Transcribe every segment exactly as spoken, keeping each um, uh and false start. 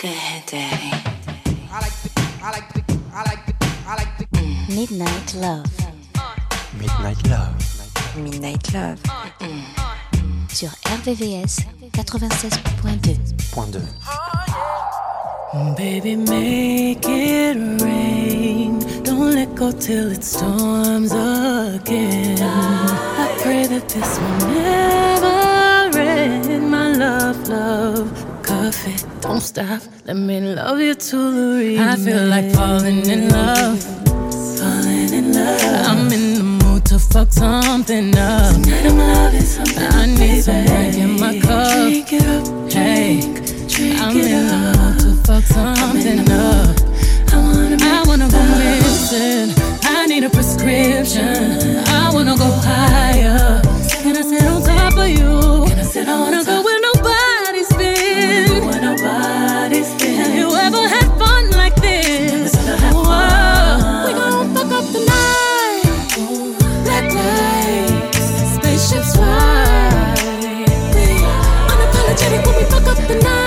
Good day. I like the, I like the, I like the, I like the mm. Midnight Love. Midnight Love. Midnight Love. Mm. Sur R V V S quatre-vingt-seize point deux. Point deux. Baby, make it rain. Don't let go till it storms again. I pray that this will never end. My love, love, coffee, don't stop. Let me love you to the end. I feel like falling in love. Falling in love. I'm in the mood to fuck something up. Tonight I'm loving something. I need some drink in my cup. Drink it up, hey. I'm in the mood to fuck something up. I wanna, I wanna go missing. I need a prescription. I wanna go higher. Can I sit on top of you? Can I sit I wanna go where nobody's been. Where nobody's been. Have you ever had fun like this? Whoa. We gon' fuck up the night. Black lights, spaceships fly. We unapologetic when we fuck up the night.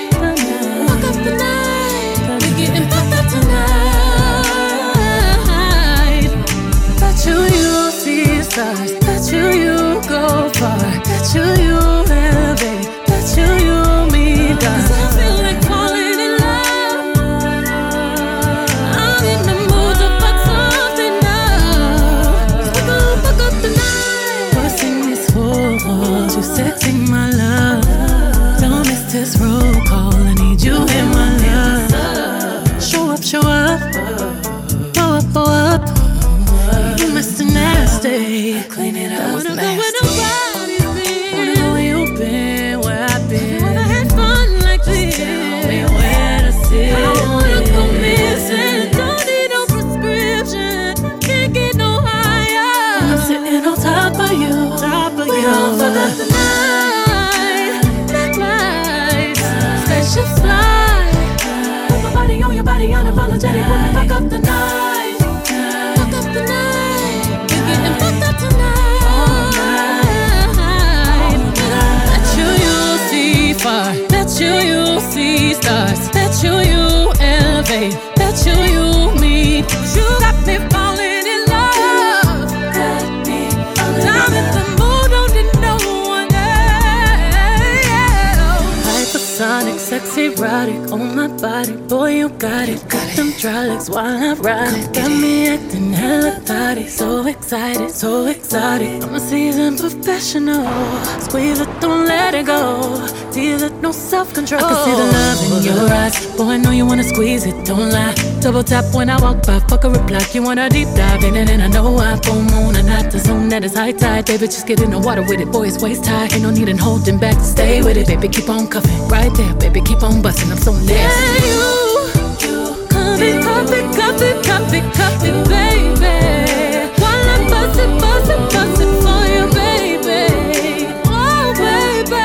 Stars. Bet you you go far. Bet you you elevate. Bet you you meet God. Cause I feel like falling in love. I'm in the mood to fuck something up. Cause we gon' fuck up the night. Crossing these walls, you sexy my love. Don't miss this roll call. I need you in my love. Show up, show up. Blow up, blow up. You Mister Nasty. Clean it up. I wanna go where nobody's been. Wanna know where you've been, where I've been. Never had fun like this. Tell me where to sit. I wanna go missing. Don't need no prescription. Can't get no higher. I'm sitting on top of you. Top of we you. Gon' fuck up the night. Black lights, spaceships fly. Put my body on your body, unapologetic. When we fuck up the night. Bet you you see stars. Bet you you elevate. Bet you you meet. You got me falling in love. Got me falling I'm in the mood, don't need no one else. Hypersonic, sexy, erotic on my body. Boy, you got it. Got them dry legs while I ride. Got me acting hella thotty. So excited, so exotic. I'm a seasoned professional. Squeeze it, don't let it go. Feel it, no self-control. I can see the love in your eyes. Boy, I know you wanna squeeze it, don't lie. Double tap when I walk by, fuck a reply. You wanna deep dive in it, and I know I full moon and not the zone that is high tide. Baby, just get in the water with it, boy, it's waist high. Ain't no need in holding back, stay with it, baby, keep on cuffing. Right there, baby, keep on busting, I'm so nasty. Yeah, you, you, cuff it, cuff it, cuff it, cuff it, cuff it, baby. While I bust it, bust it, bust it for you, baby. Oh, baby.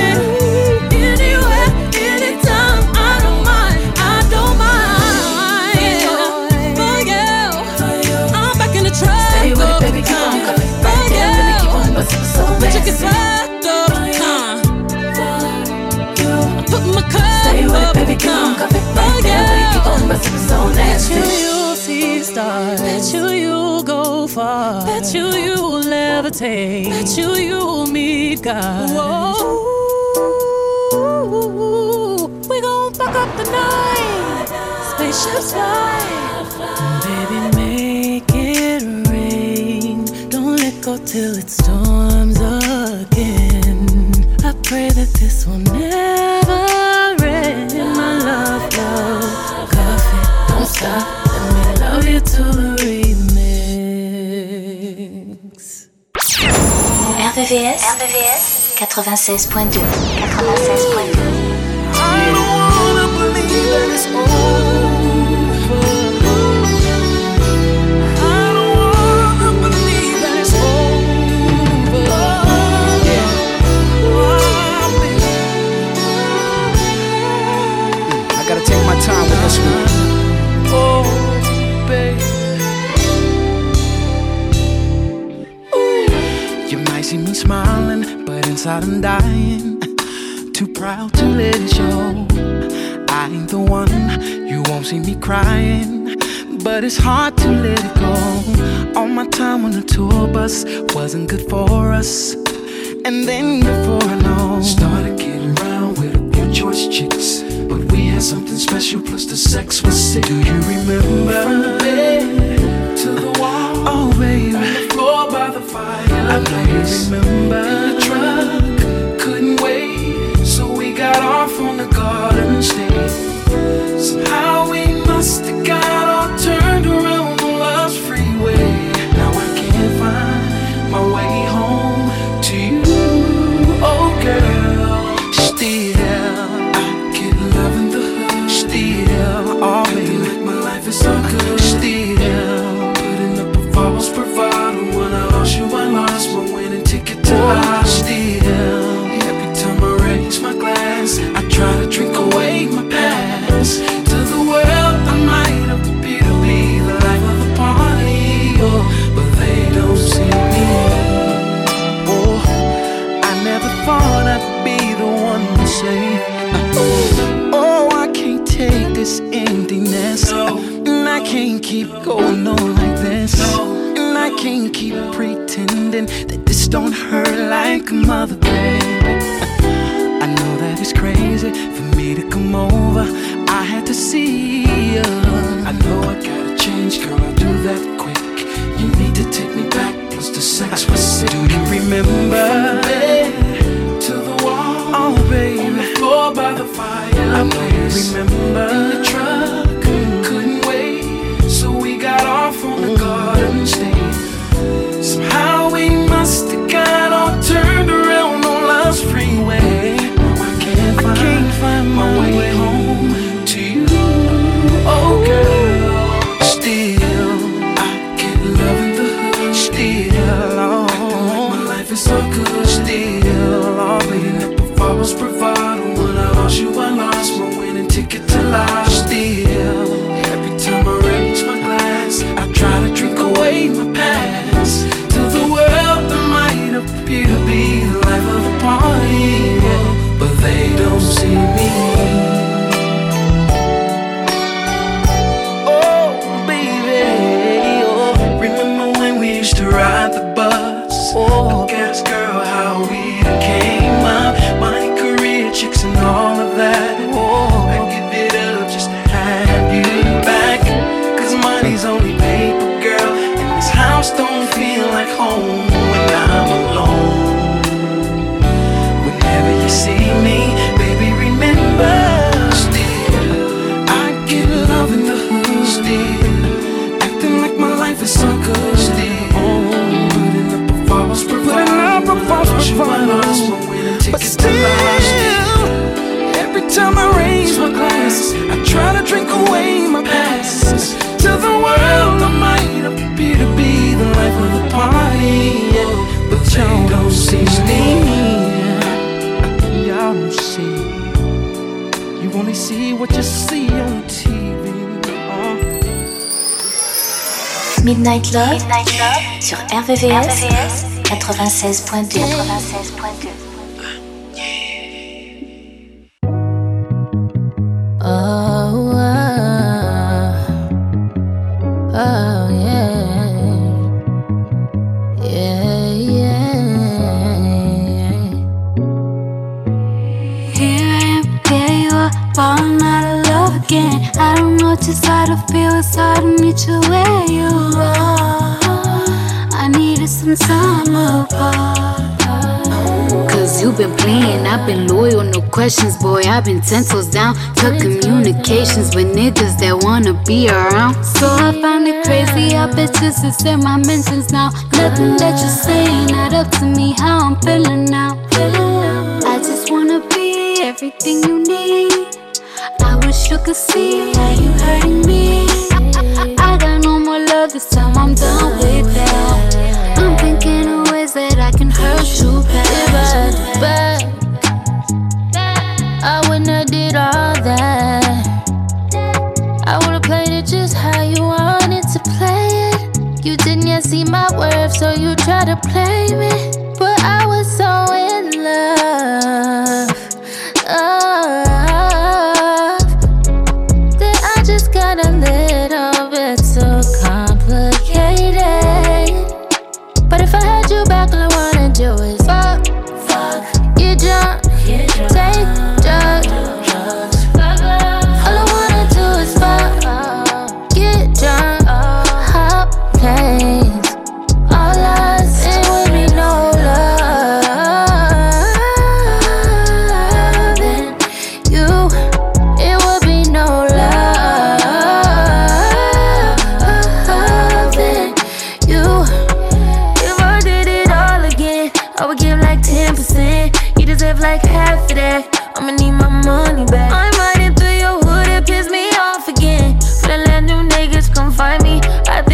But you can slide up, huh? I put my cup Stay with up, it, baby, keep on cuffing right there. Keep on busting so nasty. Bet you you see stars. Bet you you go far. Bet you you levitate. Bet you you meet God. Whoa. We gon' fuck up the night. Spaceships fly. Baby, make it rain. Don't let go till it storms again. I pray that this will never end. My love, love, coffee, don't stop. Let me love you to the remix. R V V S, R V V S quatre-vingt-seize point deux. quatre-vingt-seize point deux. I don't wanna believe that it's over. Time with this one. Oh, baby. Ooh. You might see me smiling, but inside I'm dying. Too proud to let it show. I ain't the one, you won't see me crying, but it's hard to let it go. All my time on the tour bus wasn't good for us. And then before I know, started getting around with a few choice chicks, but we had something special, plus the sex was sick. Do you remember? From the bed to the wall, oh baby, on the floor by the fire. I know you remember. In the truck, couldn't wait, so we got off on the garden state. Somehow we must have got all turned around on Love's freeway. Now I can't find my way home to you, oh girl. Still, I get love in the hood. Still, oh baby, like my life is so good. Still, putting up a false bravado. When I lost you, I lost my winning ticket to life. Still, every time I raise my glass, I try to drink away my past. To the world, I might appear to be the life of the party, oh, but they don't see me. Oh, I never thought I'd be the one to say, oh, I can't take this emptiness, no. And I can't keep going on like this, no. And I can't keep pretending that this don't hurt like a mother, baby. I know that it's crazy for me to come over. I had to see you. I know I gotta change, girl, I'll do that quick. You need to take me back, plus the sex was sick. Do you remember? From the bed to the wall, oh baby, on the floor by the fire. I know you remember. In the truck, couldn't wait, so we got off on the garden state. Somehow we must have got all turned around on Love's freeway. I can't find my way home to you, oh girl. Still, I get love in the hood. Still, oh, acting like my life is so good. Still, oh, beating up a false bravado. When I lost you, I lost my winning ticket to life. Still, every time I raise my glass, I try to drink away my past. To the world, I might appear to be the life of the party, yeah, but they don't see me. Oh, baby, oh, remember when we used to ride the bus? Oh, gas girl, how we came up. Money, career, chicks, and all of that. Oh, I give it up just to have you back. Cause money's only paper, girl, and this house don't feel like home when I'm alone. Whenever you see me, baby, remember. Still, I get love in the hood. Still, acting like my life is so good. Still, putting up a false bravado. But still, every time I raise my glass, I try to drink away my past. To the world, I might appear to be the life of the party, yeah, but y'all don't see me. Y'all don't see. You only see what you see on T V. Oh. Midnight Love, Midnight Love sur R V V S quatre-vingt-seize point deux. quatre-vingt-seize point deux. Oh, oh, oh, yeah, yeah, yeah. Here I am, there you are, falling out of love again. I don't know just how to feel, it's hard to meet you where you are. I needed some time apart. Cause you've been playing, I've been loyal, no questions, boy. I've been ten toes down, cut communications with niggas that wanna be around. So I find it crazy, I bet just to say my mentions now. Nothing that you're saying, not up to me, how I'm feeling now. I just wanna be everything you need. I wish you could see how you hurting me. I, I, I got no more love this time, I'm done with that. I'm thinking of ways that I can hurt you back. But I wouldn't have did all that. I would've played it just how you wanted to play it. You didn't yet see my worth, so you tried to play me. But I was so in love, oh,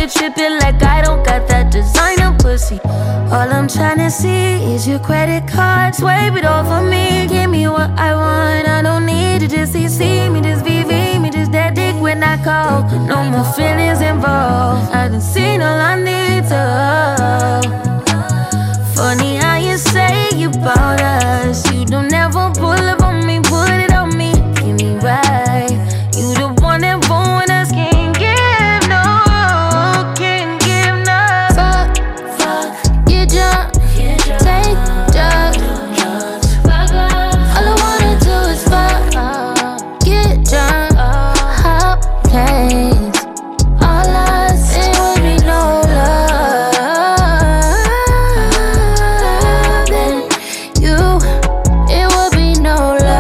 to trip it like I don't got that designer pussy. All I'm tryna see is your credit card. Swipe it off of me, give me what I want. I don't need to just see, see me, just V V me, just that dick when I call. No more feelings involved. I done seen all I need to. Funny how you say about us. You don't ever pull up on me, put it on me, give me right. You the one that born us, can't give no, can't give no. Fuck, fuck, get drunk, take drugs. All I wanna do is fuck, get drunk, hop planes. All I say would be no love. Then you, it would be no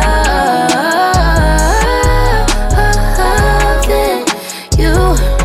love. Then you,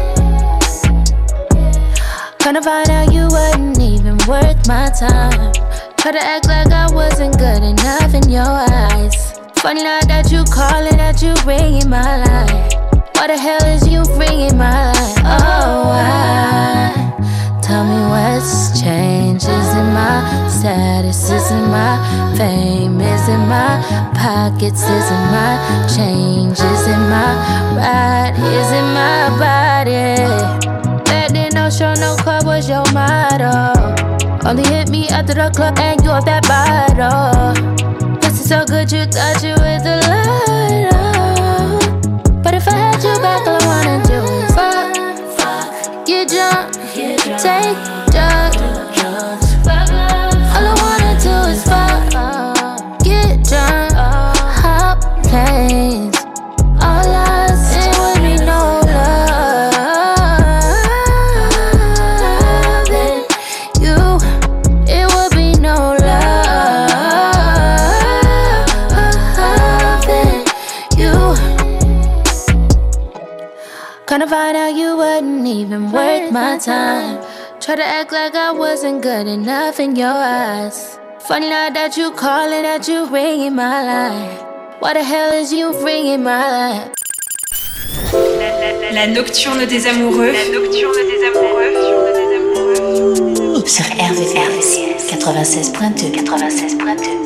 kinda find out you wasn't even worth my time. Try to act like I wasn't good enough in your eyes. Funny now that you calling, that you ringing my line. Why the hell is you ringing my line? Oh, why? Tell me what's changed. Is it my status? Is it my fame? Is it my pockets? Is it my change? Is it my ride? Is it my body? Back then, no show, no club was your motto. Only hit me after the club and you off that bottle. This is so good you thought you was the light. But if I had you back, all I wanna do is fuck, fuck, get drunk, take drugs. All I wanna do is fuck, get drunk, hop planes. All I say would be no love. Then you, it would be no love. Then you, kinda find out you wasn't even worth my time. Try to act like I wasn't good enough in your eyes. Funny now that you calling, that you ringing my line. Why the hell is you ringing my line? La nocturne des amoureux. La nocturne des amoureux. Sur R V V S quatre-vingt-seize point deux. quatre-vingt-seize point deux.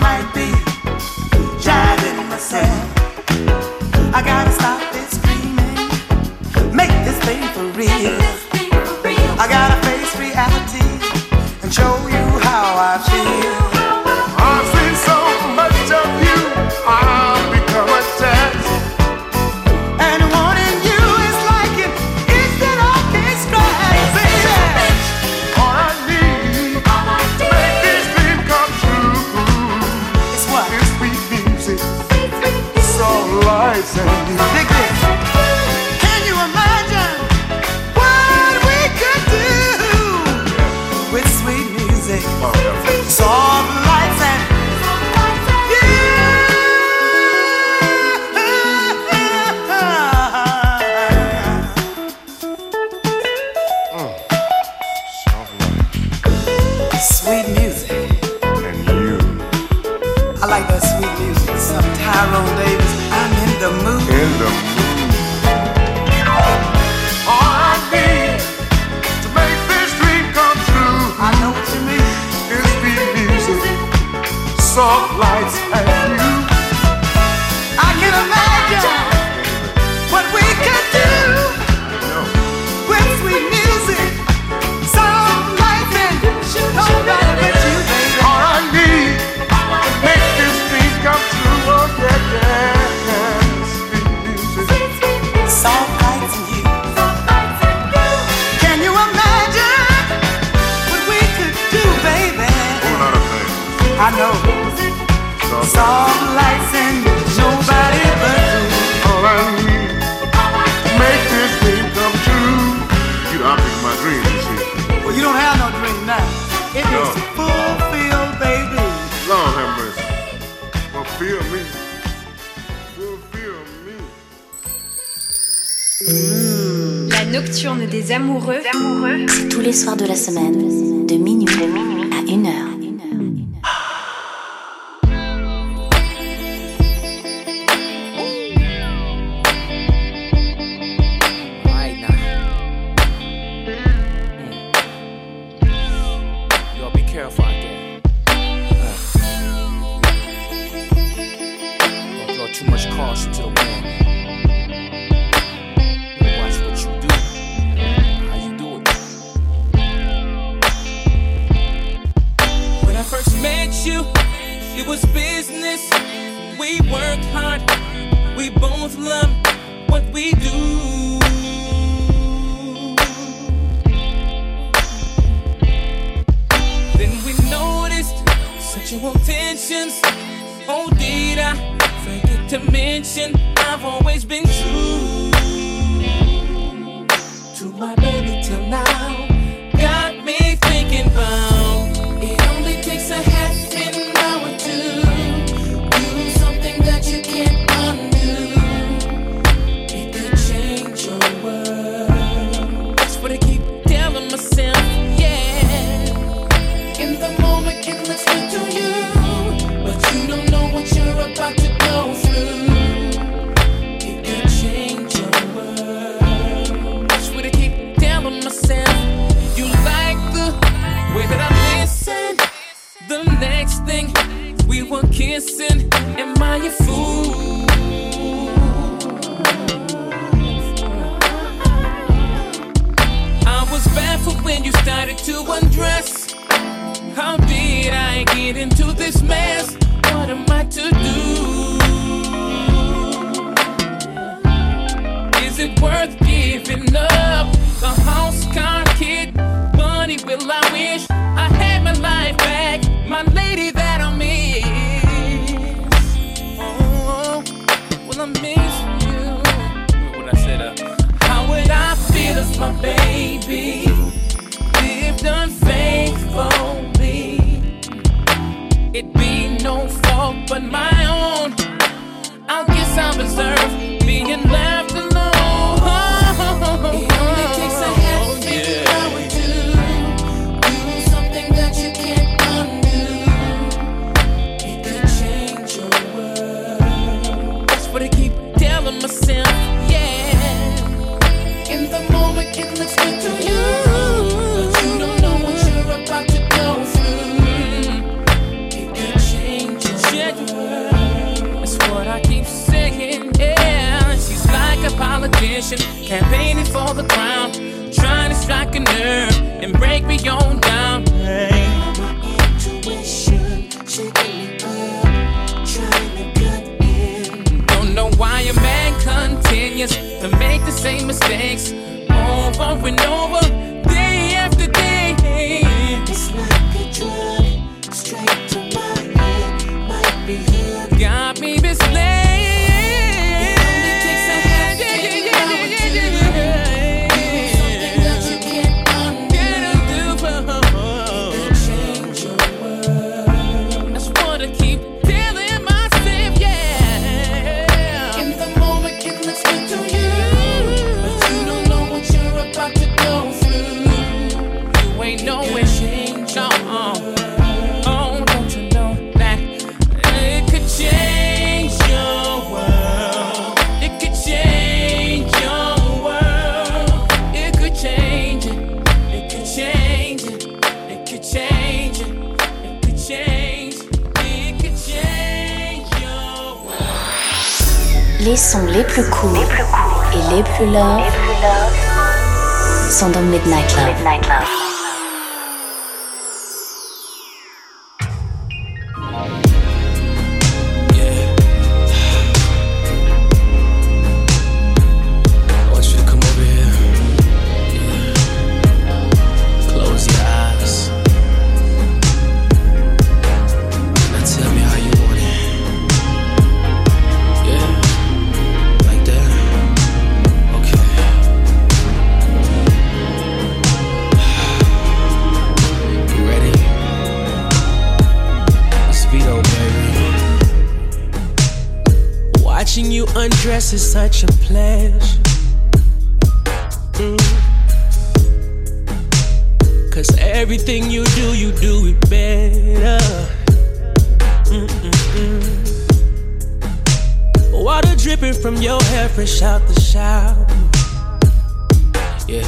I gotta stop this screaming. listen. Dig this. Can you imagine what we could do with sweet music, soft lights and sweet music. And you. I like that sweet music. Some Tyrone Davis. I'm in the mood. In the mood. All I need to make this dream come true. I know what you mean. Is sweet music, soft lights, and you. I can imagine what we could do with sweet music, soft lights, and nobody but you, baby. All I need to make this dream come true. Oh yeah, yeah. Sweet music, soft lights, and you. Can you imagine what we could do, baby? Whole lot of things. I know. Soft, soft lights and nobody but you. All I need to make this dream come true. You know, I pick my dream, you see. Well, you don't have no dream now. It no. is fulfilled, baby. Lord have mercy. Fulfill me. Fulfill me. Mmh. La nocturne des amoureux. amoureux. C'est tous les soirs de la semaine, de minuit, de minuit à une heure. Too much caution to the wind. Watch what you do, how you do it. When I first met you, it was business. We worked hard, we both loved what we do. Then we noticed sexual tensions. Oh, did I forget to mention I've always been true to my baby till now. Got me thinking about it only takes a half an hour to do something that you can't undo. It could change your world. That's what I keep telling myself, yeah. In the moment it looks good to you, but you don't know what you're about to go through. It could change your world. That's what I keep telling myself. You like the way that I listen. The next thing we were kissing. Am I a fool? I was baffled when you started to undress. How did I get into this mess? What am I to do? Is it worth giving up the house, car, kid, money? Will I wish I had my life back, my lady that I miss? Oh, well I miss you. What I said, uh, how would I feel if my baby lived unfaithfully? It'd be no fault but my own. I guess I deserve being left alone. It only takes a half an hour to do something that you can't undo. It could change your world. That's what I keep telling myself, yeah. In the moment it looks good to you, but you don't know what you're about to go through. That's what I keep saying, yeah. She's like a politician, campaigning for the crown, trying to strike a nerve and break me on down. Hey. My intuition shaking me up, trying to cut in. Don't know why a man continues to make the same mistakes over and over, day after day. It's like a drug, straight to my head. Got me misled. Les sons les plus cool, les plus cool et les plus love, les plus love sont dans Midnight Love. Midnight Love. Undress is such a pleasure. Mm. Cause everything you do, you do it better. Mm-mm-mm. Water dripping from your hair fresh out the shower. Yeah.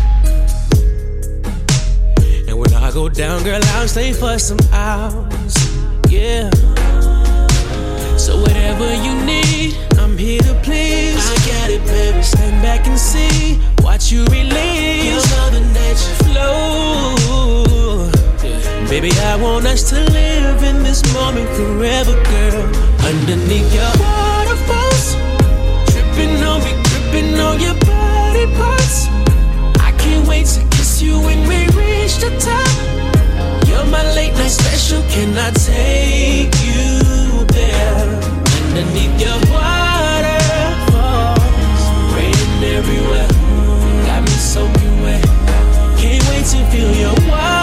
And when I go down, girl, I'll stay for some hours. Yeah. So whatever you need, I'm here to please. I got it, baby. Stand back and see. Watch you release your mother nature flow. Yeah. Baby, I want us to live in this moment forever, girl. Underneath your waterfalls, tripping on me, gripping on your body parts. I can't wait to kiss you when we reach the top. You're my late night special. Can I take you there? Underneath your waterfalls, raining everywhere, got me soaking wet. Can't wait to feel your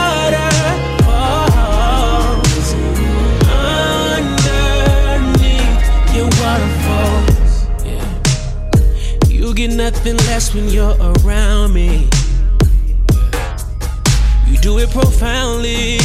waterfalls. Underneath your waterfalls, yeah. You get nothing less when you're around me. You do it profoundly.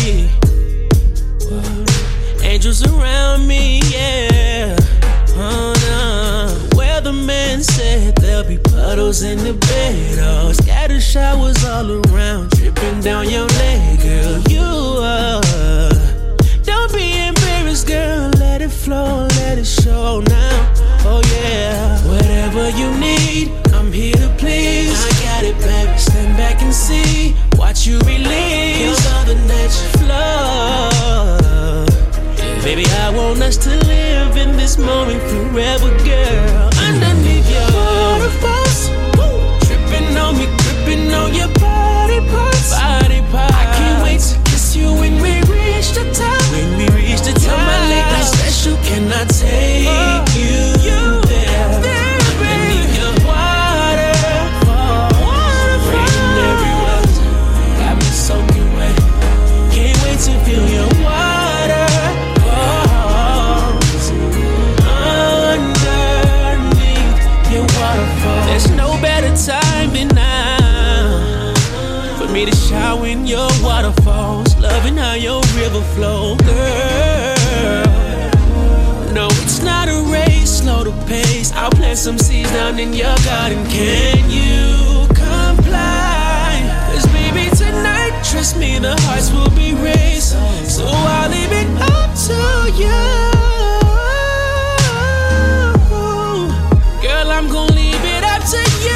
Angels around me, yeah. Oh, no. Where the man said there'll be puddles in the bed, oh, scattered showers all around, dripping down your leg, girl. You are. Don't be embarrassed, girl. Let it flow, let it show now. Oh yeah. Whatever you need, I'm here to please. I got it, baby. Stand back and see. Watch you release your other nature flow. Baby, I want us to live in this moment forever, girl. Underneath your waterfalls, tripping on me, gripping on your body parts. Body parts. I can't wait to kiss you when we reach the top. When we reach the top, my late night special. Can I take oh, you, you there? there Underneath your waterfalls, raining everywhere, got me soaking wet. Can't wait to feel your water. There's no better time than now for me to shower in your waterfalls, loving how your river flows, girl. No, it's not a race, slow the pace. I'll plant some seeds down in your garden. Can you comply? Cause baby, tonight, trust me, the hearts will be raised. So I'll leave it up to you. Girl, I'm gonna leave it up to you.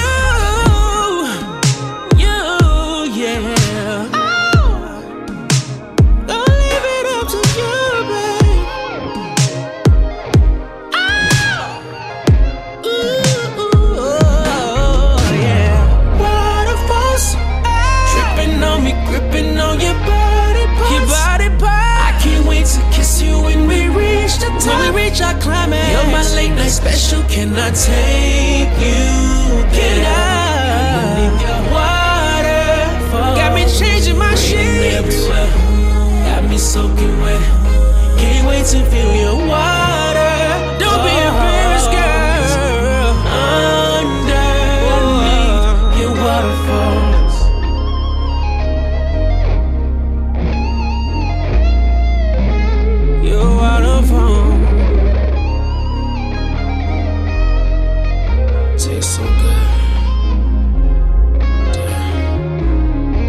You, yeah. Gonna leave it up to you, babe. Ooh, ooh, oh, yeah. Waterfalls, tripping on me, gripping on your body parts. Your body parts. I can't wait to kiss you when we reach the top. When we reach our climax. You're my late night special. Can I take you there? Underneath your waterfall, got me changing my sheets. Got me soaking wet. Can't wait to feel your water. Don't be embarrassed, girl. Underneath your waterfalls. Your waterfall. Tastes so good.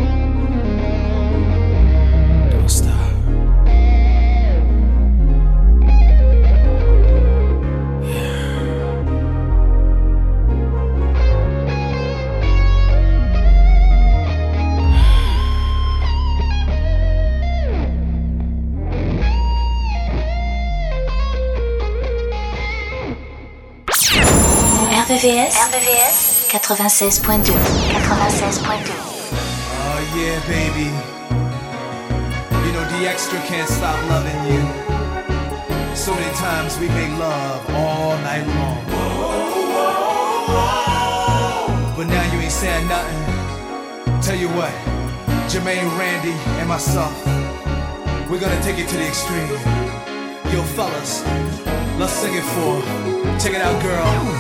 Damn. Don't stop. V V S, R V V S quatre-vingt-seize point deux. quatre-vingt-seize point deux. Oh yeah, baby. You know D Extra can't stop loving you. So many times we make love all night long. But now you ain't saying nothing. Tell you what, Jermaine, Randy, and myself, we're gonna take it to the extreme. Yo, fellas, let's sing it for her. Check it out, girl.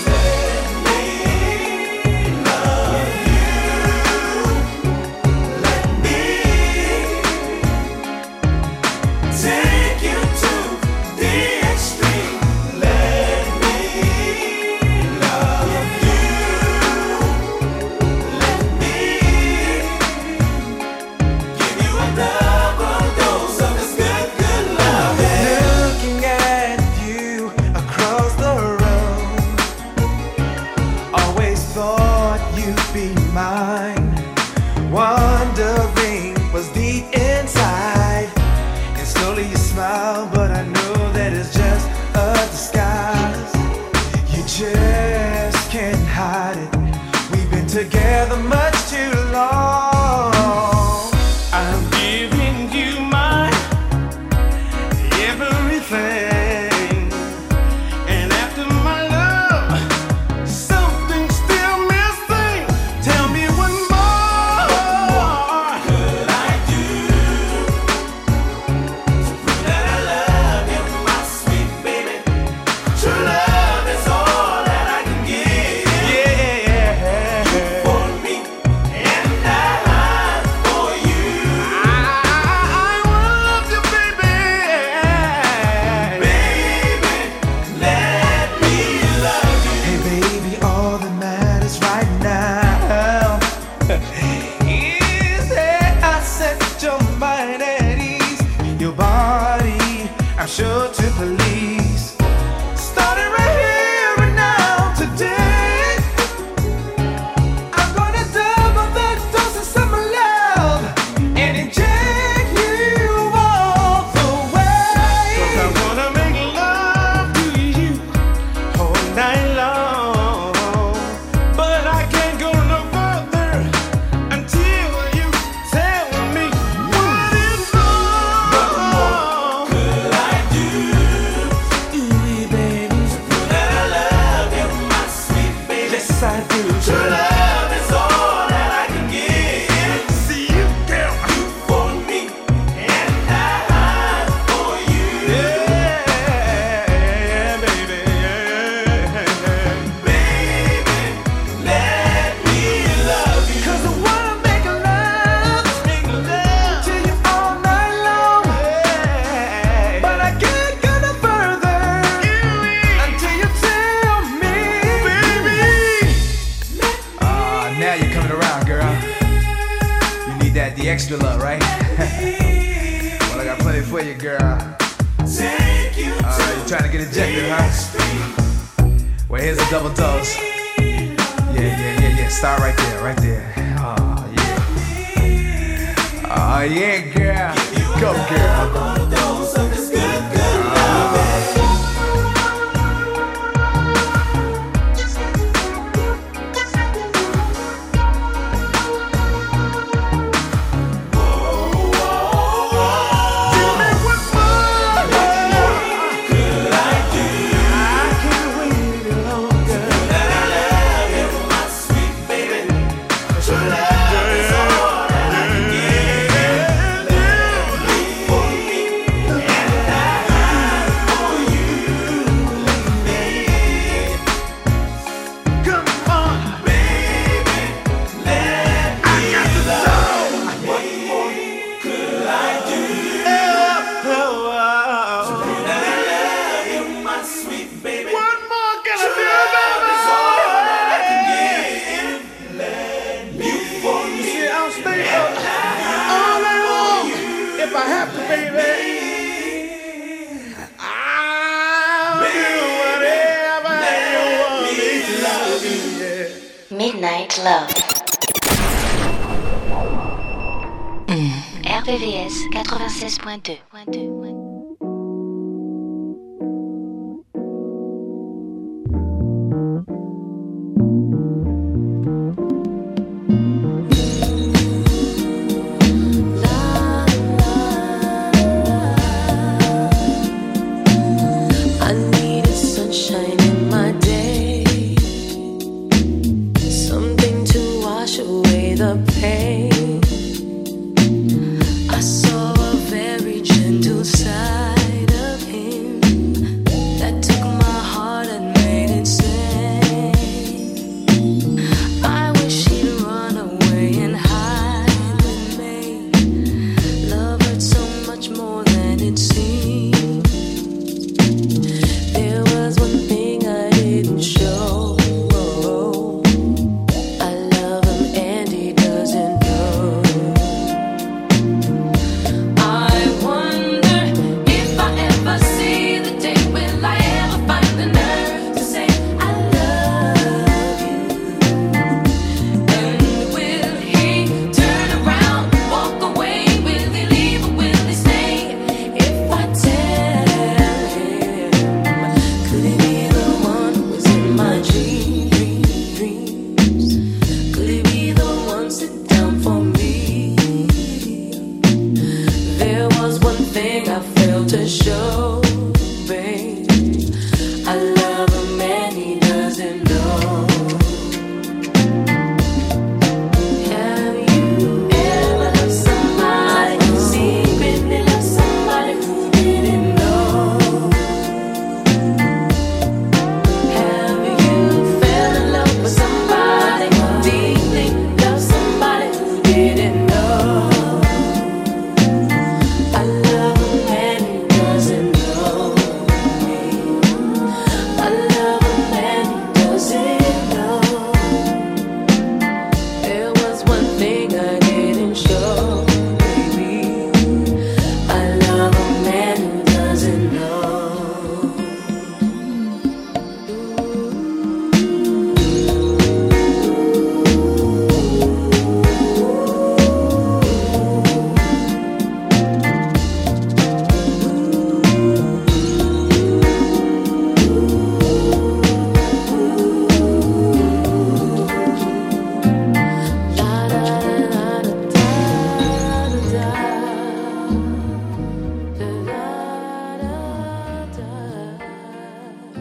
Together much too long. I'm giving you my everything, and after my love, something's still missing. Tell me what more could I do to prove that I love you, my sweet baby? True love is all that I can give. Yeah. For me, and I for you. I, I love you, baby. Baby, let me love you. Hey, baby, all that matters right now is that I set your mind at ease. Your body, I'm sure to please. Starting right here and now, today. I'm gonna double the doses of my love and inject you all the way. 'Cause I wanna make love to you all night long. But I can't go no further until you tell me what is wrong. What more could I do? Ooh, baby, to prove that I love you, my sweet baby. Yes, I do. True love is all that I can give. See you, girl, you for me, and I for you. Yeah, baby, yeah. Baby, let me love you. 'Cause I wanna make love, make love to you all night long. But I can't go no further until you tell me, baby. Ah, now you're coming around, girl. You need that the extra love, right? Well, I got plenty for you, girl. Take you Uh, you trying to get ejected, huh? Well, here's a double dose. Yeah, yeah, yeah, yeah. Start right there, right there. Oh, yeah. Oh, yeah, girl. Go, girl. dose of this good, good love. Tell me what more could I do? I can't wait any longer. That I love you, my sweet baby. True love is all that I can give. For me, and I for you. Come on, baby, let me love you. What more could I do? Oh, oh, oh. That I love you, my sweet baby. What more can I do? Love is all that I can give. Let you for me. See, I'll stay up all night long if I have to, baby. I'll do whatever you want me to love you. Yeah. Midnight Love. R V V S quatre-vingt-seize point deux.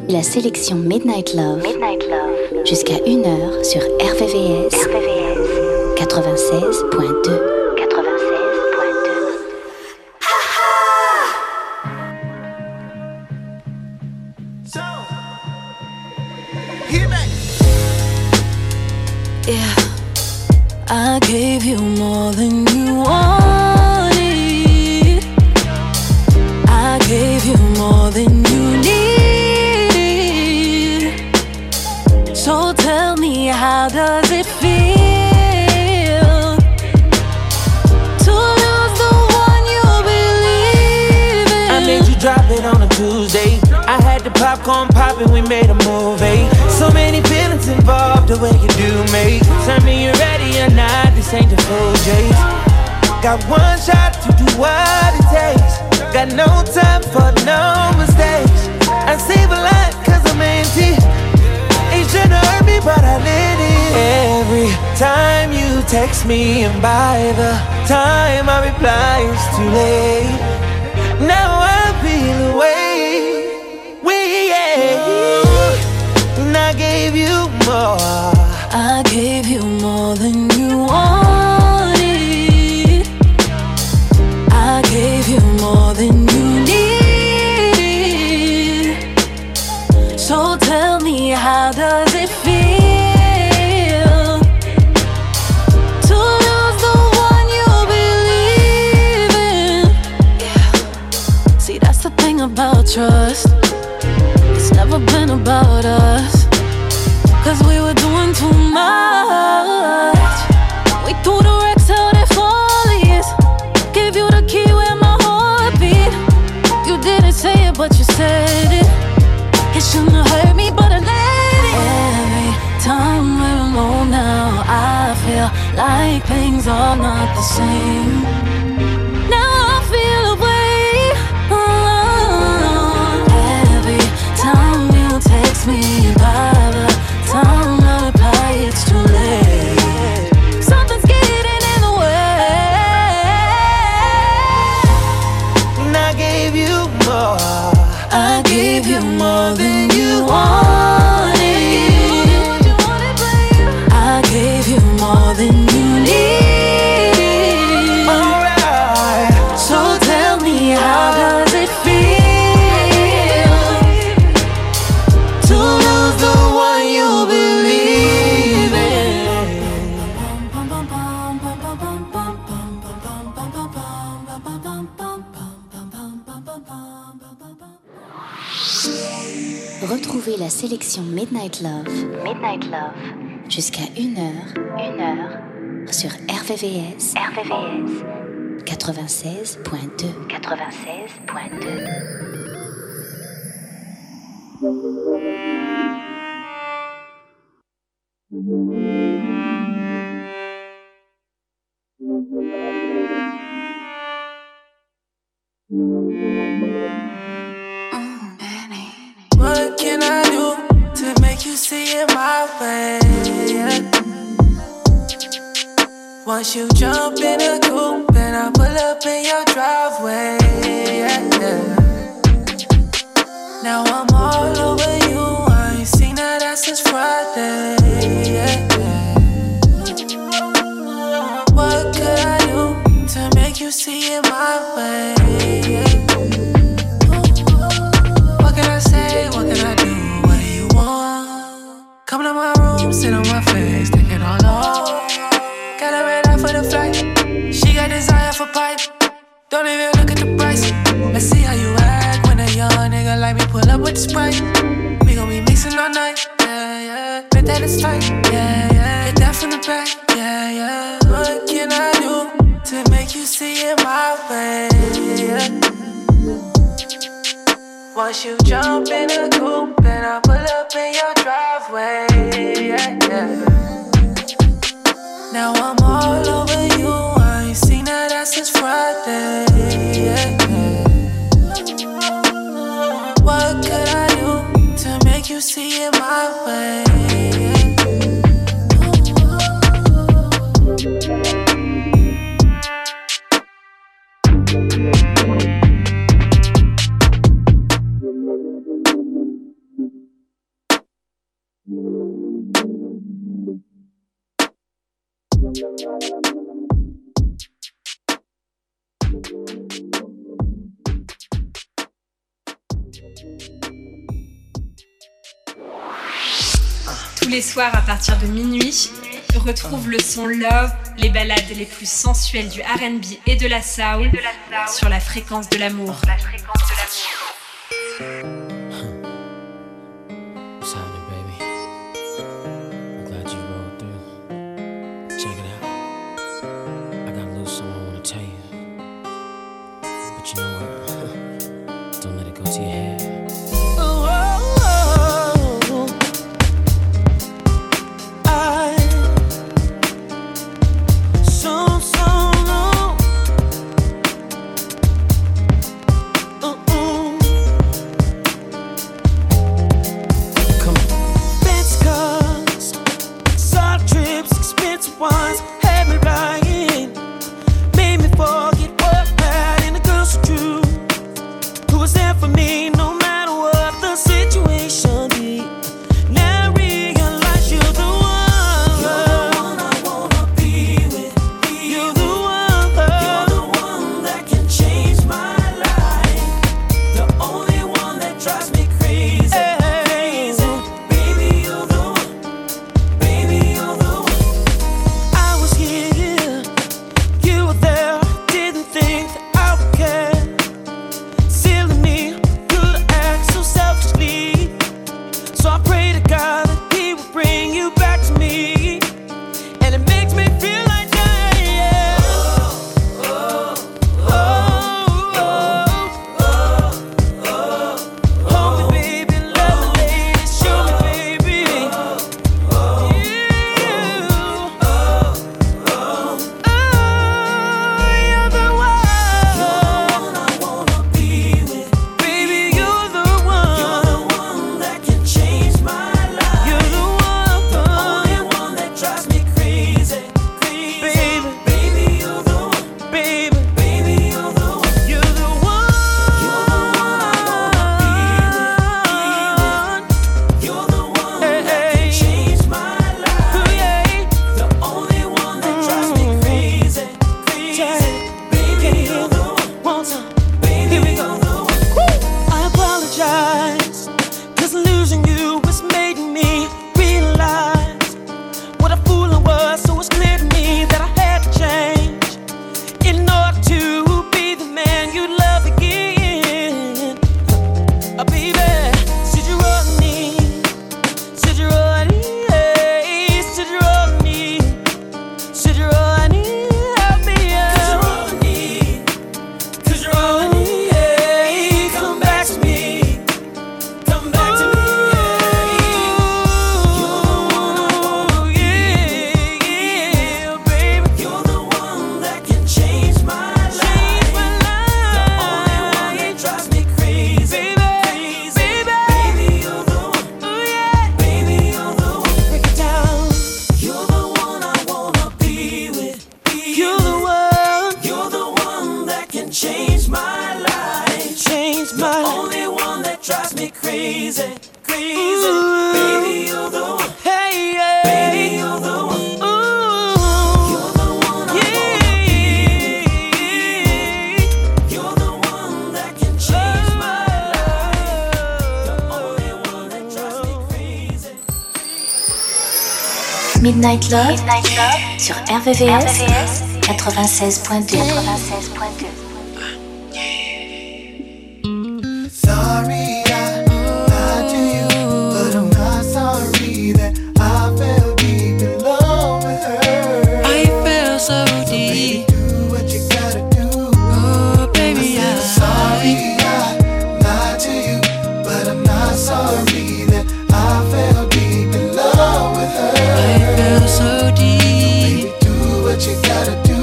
La sélection Midnight Love, Midnight Love. Jusqu'à une heure sur R V V S, R V V S quatre-vingt-seize point deux. Yeah, I gave you more than you wanted. I gave you more than you need. So tell me, how does it feel to lose the one you believe in? I made you drop it on a Tuesday. I had the popcorn poppin', we made a movie. So many feelings involved, the way you do me. Tell me you're ready or not, this ain't the full J's. Got one shot to do what it takes. Got no time for no mistakes. I save a lot cause I'm empty. Ain't tryna hurt me but I let it. Every time you text me and by the time I reply it's too late. Now I feel away. And I gave you more. I gave you more than you wanted. I gave you more than you need. So tell me, how does it feel to lose the one you believe in? Yeah. See, that's the thing about trust. It's never been about us, cause we were doing too much. We threw the wrecks out at Follies. Gave you the key where my heart beat. You didn't say it but you said it. It shouldn't have hurt me but I let it. Every time we're alone now I feel like things are not the same. Now I feel away. Oh, every time you text me, by the time I reply it's too late. Something's getting in the way. And I gave you more. I gave you more than you wanted. I gave you more than you need. Alright. So tell me, how does it feel to lose the one you believe in? Retrouvez la sélection Midnight Love, Midnight Love. Jusqu'à une heure, une heure. Sur R V V S, R V V S quatre-vingt-seize point deux, quatre-vingt-seize point deux. What can I do to make you see it my way? Yeah. Once you jump in a coupe and I pull up in your driveway. Yeah, yeah. Now I'm all over you. I ain't seen that ass since Friday. Yeah, yeah. What could I do to make you see it my way? Yeah. What can I say? What can I do? What do you want? Come to my room, sit on my face, take it all off. Got a red eye for the flight. She got desire for pipe. Don't even look at the price. Let's see how you act when a young nigga like me pull up with the Sprite. We gon' be mixing all night. Yeah, yeah. Bet that it's tight. Yeah, yeah. Hit that from the back. Yeah, yeah. What can I do to make you see it my way? Yeah. Once you jump in a coupe and I pull up in your driveway. Yeah, yeah. Now I'm all over you. I ain't seen that ass since Friday. Yeah, yeah. What could I do to make you see it my way? Tous les soirs à partir de minuit, retrouve le son Love, les ballades les plus sensuelles du R and B et de la soul sur la fréquence de l'amour. What's happening, baby? I'm glad you rolled through. Check it out. I got a little something I want to tell you. But you know what? Don't let it go to your head. Once had me lying, made me forget what bad and the girl so true, who was there for me no matter what the situation be. Now I realize you're the one, you're the one I wanna be with. You're the one, you're the one that can change my life. The only one that drives me crazy, crazy. Baby, you're the one. Baby, you're the one. Here, you were there, didn't think that I would care. Silly me, could act so selfishly. So I pray to God that He will bring you back to me. And it makes me feel like dying, yeah. Oh, oh, oh, oh, oh, oh. Hold me, baby, love me, lady, show me, baby. Oh, you. Midnight Love, Midnight Love sur R V V S quatre-vingt-seize point deux. quatre-vingt-seize point deux. Sorry, I lied to you, but I'm not sorry that I fell deep in love with her. I fell so deep. So baby, do what you gotta do. Oh, baby, I said, sorry, I lied to you, but I'm not sorry that I fell deep in love with her. I fell so deep. So baby, do what you gotta do.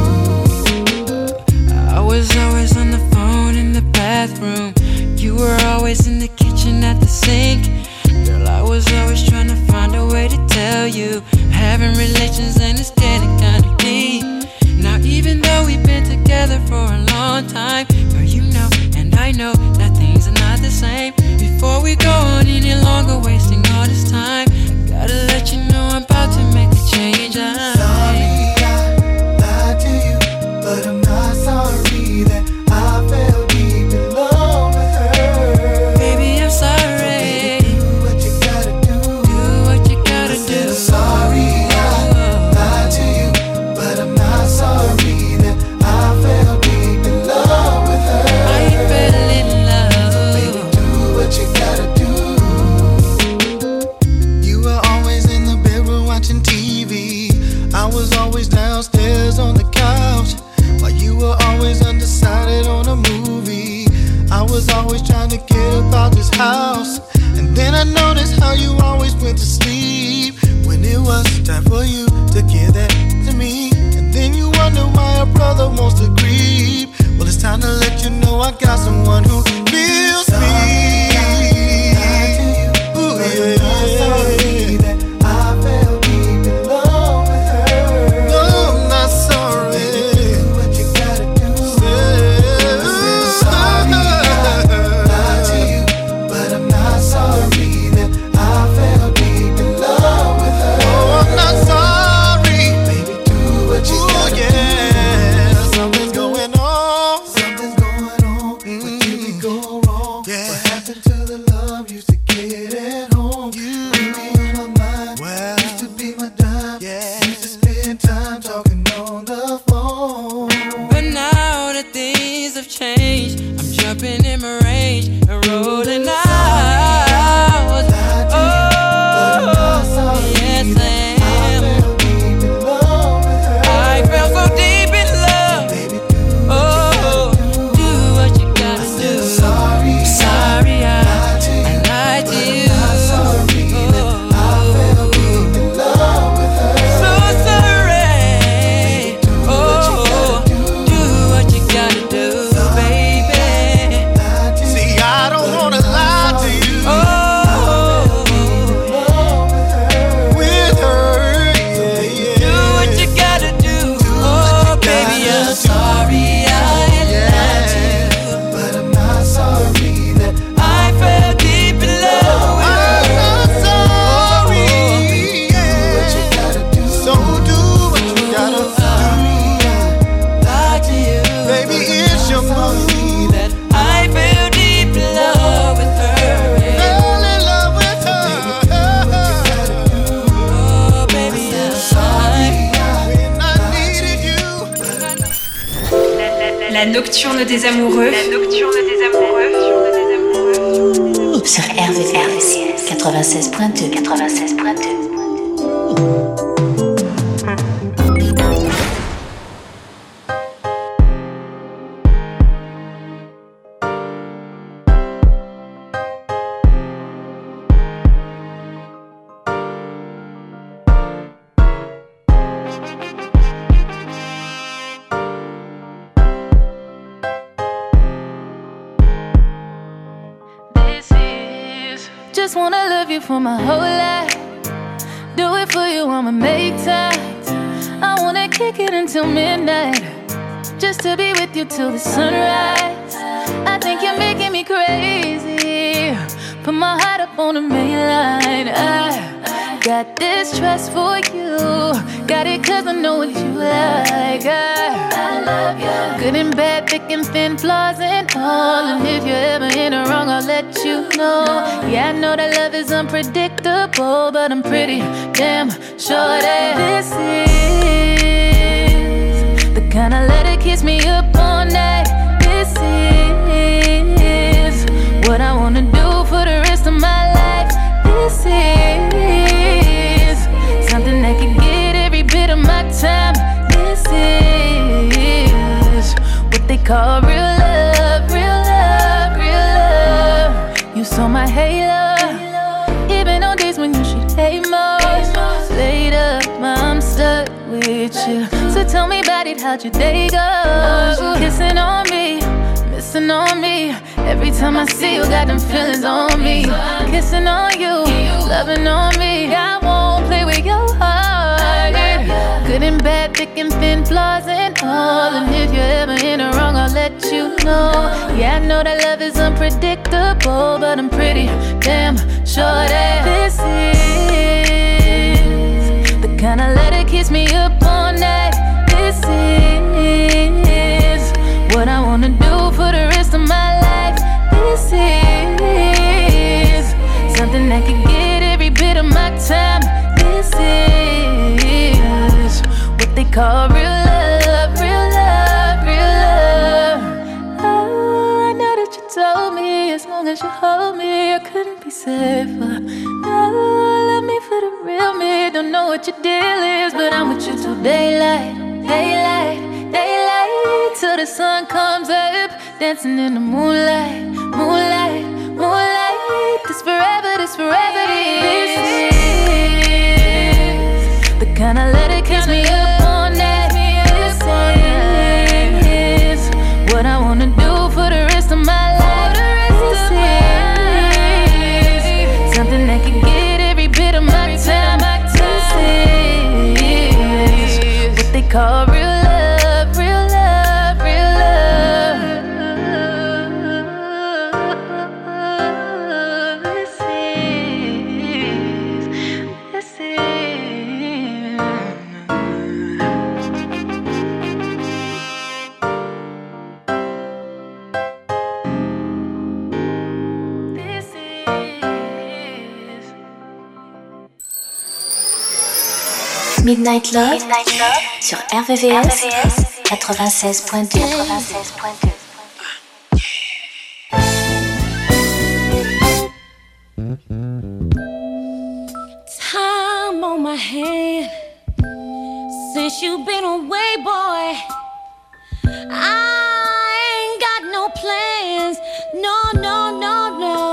I was always on the phone in the bathroom. You were always in the kitchen at the sink. Girl, I was always trying to find a way to tell you having relations and it's getting kinda deep. Now even though we've been together for a long time, girl, you know and I know that things are not the same. Before we go on any longer wasting all this time, gotta let you know I'm about to make a change. I Sorry, I lied to you, but I'm not sorry that I fell deep in love with her. this house. And then I noticed how you always went to sleep when it was time for you to give that to me. And then you wonder why a brother wants to creep. Well, it's time to let you know I got someone who feels me. Ooh, yeah, yeah. Sorry that I fell deep in love with her. No, I'm not sorry. Baby, do what you gotta do. I'm sorry I lied to you, but I'm not sorry that I fell deep in love with her. Oh, I'm not sorry. Baby, do what you Ooh, gotta yeah. do. Something's going on. Something's going on. Mm-hmm. What did we go wrong? Yeah. What happened to the love used to get at home? You be on my mind. Well, used to be my dime. Yeah. Used to spend time talking on the phone. But now that things have changed, I'm jumping in my range and rolling out. Oh, yes I am. I fell so deep in love. Oh, do what you gotta do. Sorry, sorry I, I lied to you. So sorry. Oh, do what you gotta do, baby. See, I don't wanna lie to you. Oh, with her, yeah, yeah. do what you gotta do. Oh, baby, I'm sorry I lied to you, but I'm not sorry that I fell deep in love with her. I'm not sorry. Yeah. So do what you gotta do. Lied to you, Baby, it's your movie that I fell deep in love with her. fell in love with her. Oh, baby, I'm sorry. When I needed you. La nocturne des amoureux. La nocturne des amoureux. Sur R V V S quatre-vingt-seize point deux. quatre-vingt-seize point deux. This is just wanna love you for my whole life. Do it for you, I'ma make time. I wanna kick it until midnight, just to be with you till the sunrise. I think you're making me crazy. Put my heart up on the main line. I got this trust for you. Got it cause I know what you like. I, I love you. Good and bad, thick and thin, flaws and all. And if you're ever in the wrong, I'll let you know. Yeah, I know that love is unpredictable, but I'm pretty damn sure that this is the kind of love that keeps me up all night. This is what I wanna do for the rest of my life. This is something that can get every bit of my time. This is what they call real love, real love, real love. You saw my halo, even on days when you should hate most. Later, I'm stuck with you. So tell me about it, how'd your day go? Kissing on me, missing on me. Every time I see you, got them feelings on me. Kissing on you, loving on me. I won't play with your heart. Good and bad, thick and thin, flaws and all. And if you're ever in the wrong, I'll let you know. Yeah, I know that love is unpredictable, but I'm pretty damn sure that this is the kind of love that keeps me up all night. This is what I wanna do for the rest of my life. This is something that can get every bit of my time. This is what they call real love, real love, real love. Oh, I know that you told me as long as you hold me, I couldn't be safer. No, love me for the real me. Don't know what your deal is, but I'm with you till daylight, daylight, daylight, till the sun comes up. Dancing in the moonlight, moonlight, moonlight. Midnight Love, Midnight Love sur R V V S quatre-vingt-seize point deux. quatre-vingt-seize point deux. Time on my hand since you've been away, boy. I ain't got no plans, no, no, no,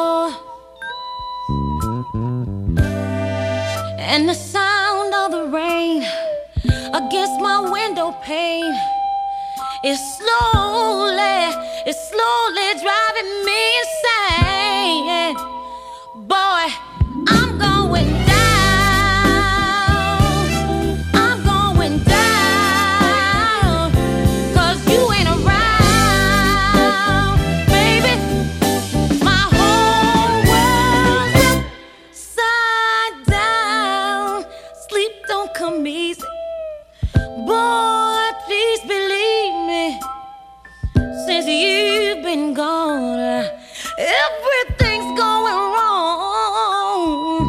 no. And the sound of the rain against my window pane is slowly, it's slowly driving me insane. Boy, I'm going down, I'm going down, 'cause you ain't around, baby. My whole world's upside down. Sleep don't come easy, boy, please believe me. Since you've been gone, everything's going wrong.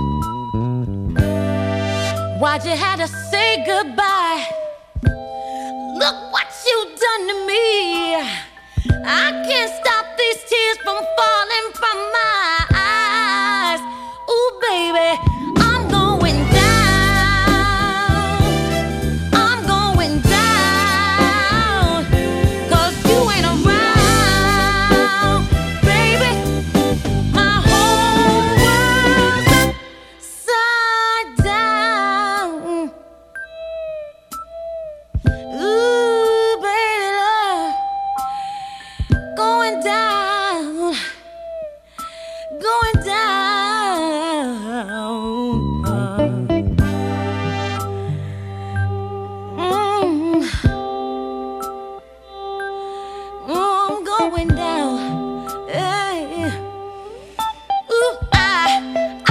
Why'd you have to say goodbye? Look what you done to me. I can't stop these tears from falling from my eyes. Ooh, baby, I'm going down, I'm going down, 'cause you ain't around, baby. My whole world's upside down. Ooh, baby, love, going down, going down. Mm. Oh, I'm going down. Hey. Ooh, I, I,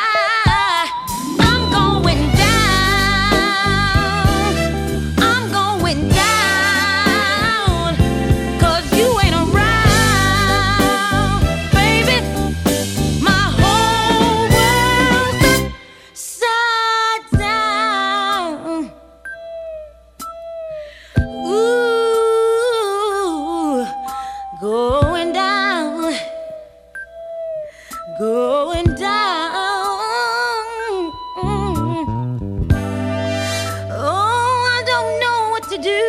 I'm going down. I'm going down, 'cause you ain't around, baby. My whole world's upside down. Ooh, going down, going down. Oh, I don't know what to do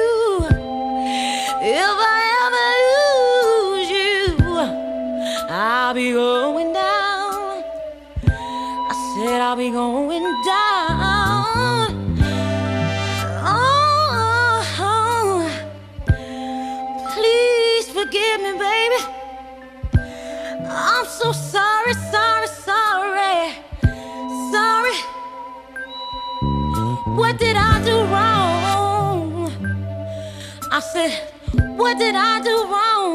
if I ever lose you. I'll be going down. I said I'll be going down. Oh, please forgive me, baby. I'm so sorry, sorry, sorry, sorry. What did I do wrong? I said, what did I do wrong?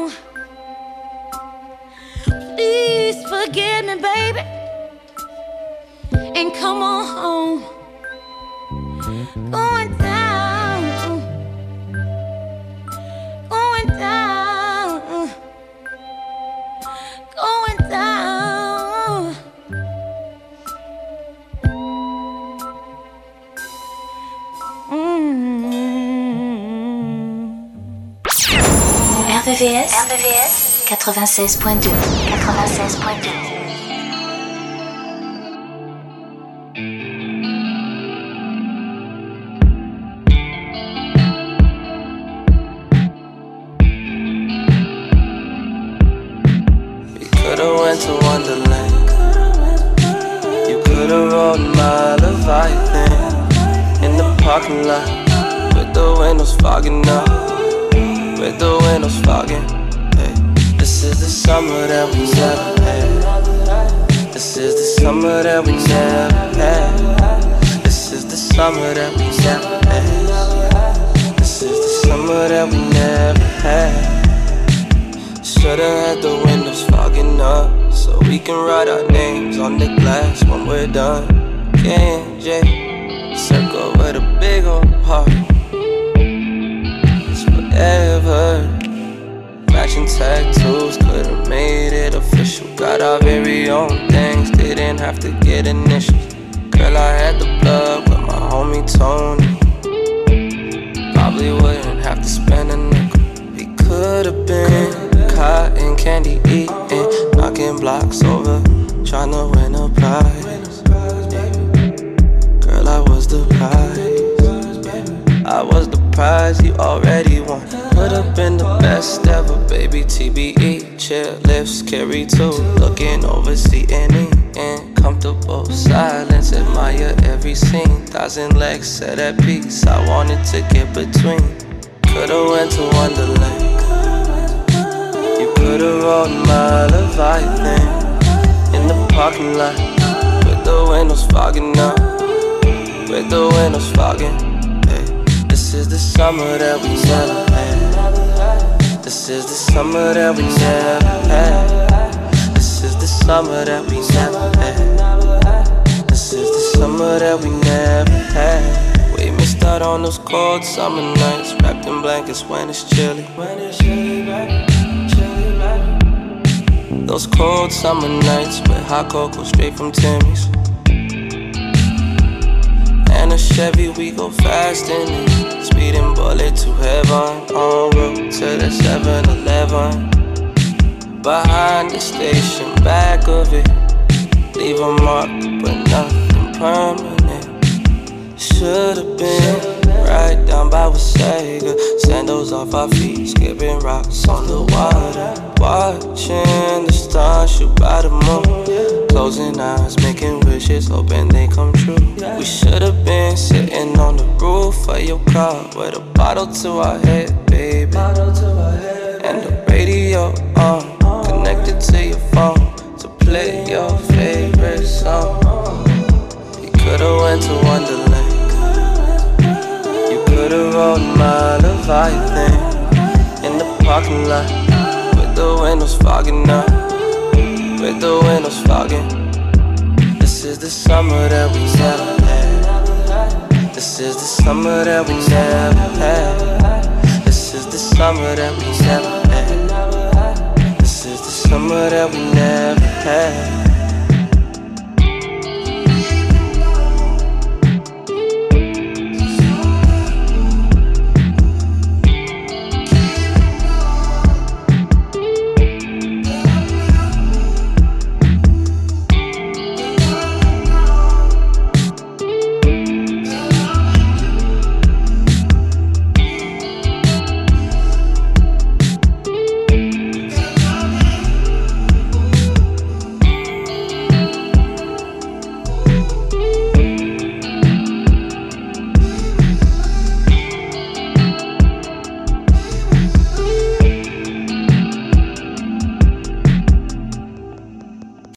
Please forgive me, baby, and come on home. Going down, going down, going down. R V V S, R V V S quatre-vingt-seize point deux. quatre-vingt-seize point deux. Could've went to Wonderland. You could've rode a mile of Leviathan in the parking lot with the windows fogging up, with the windows fogging. Hey, this is the summer that we never had. This is the summer that we never had. This is the summer that we never had. This is the summer that we never had. Should've had the windows fogging up so we can write our names on the glass when we're done. K and J, circle with a big old heart. It's forever. Matching tattoos could've made it official. Got our very own thing. have to get initials. Girl, I had the blood with my homie Tony. Probably wouldn't have to spend a nickel. We could've been cotton candy eating, knocking blocks over, tryna win a prize. Girl, I was the prize. I was the prize you already won. Could've been the best ever, baby. T B E, chairlifts, carry two, looking over C N E. Comfortable silence, admire every scene. Thousand legs set at peace, I wanted to get between. Could've went to Wonderland. You could've rolled a mile of Leviathan in the parking lot, with the windows fogging up, with the windows fogging. Hey, this is the summer that we never had. This is the summer that we never had. This is the summer that we never had. This is the summer that we never had. We missed out on those cold summer nights, wrapped in blankets when it's chilly. When it's chilly, right? Chilly, right? Those cold summer nights with hot cocoa straight from Timmy's. And a Chevy, we go fast in it, speeding bullet to heaven, en route to the seven eleven. Behind the station, back of it, leave a mark, but nothing permanent. Should've been right down by Wasaga, sandals off our feet, skipping rocks on the water, watching the stars shoot by the moon, closing eyes, making wishes, hoping they come true. We should've been sitting on the roof of your car with a bottle to our head, baby, and the radio on, connected to your phone to play your favorite song. You could've went to Wonderland. You could've rolled a mile of Leviathan in the parking lot, with the windows fogging up, with the windows fogging. This is the summer that we never had. This is the summer that we never had. This is the summer that we never had. This is the summer that we never had.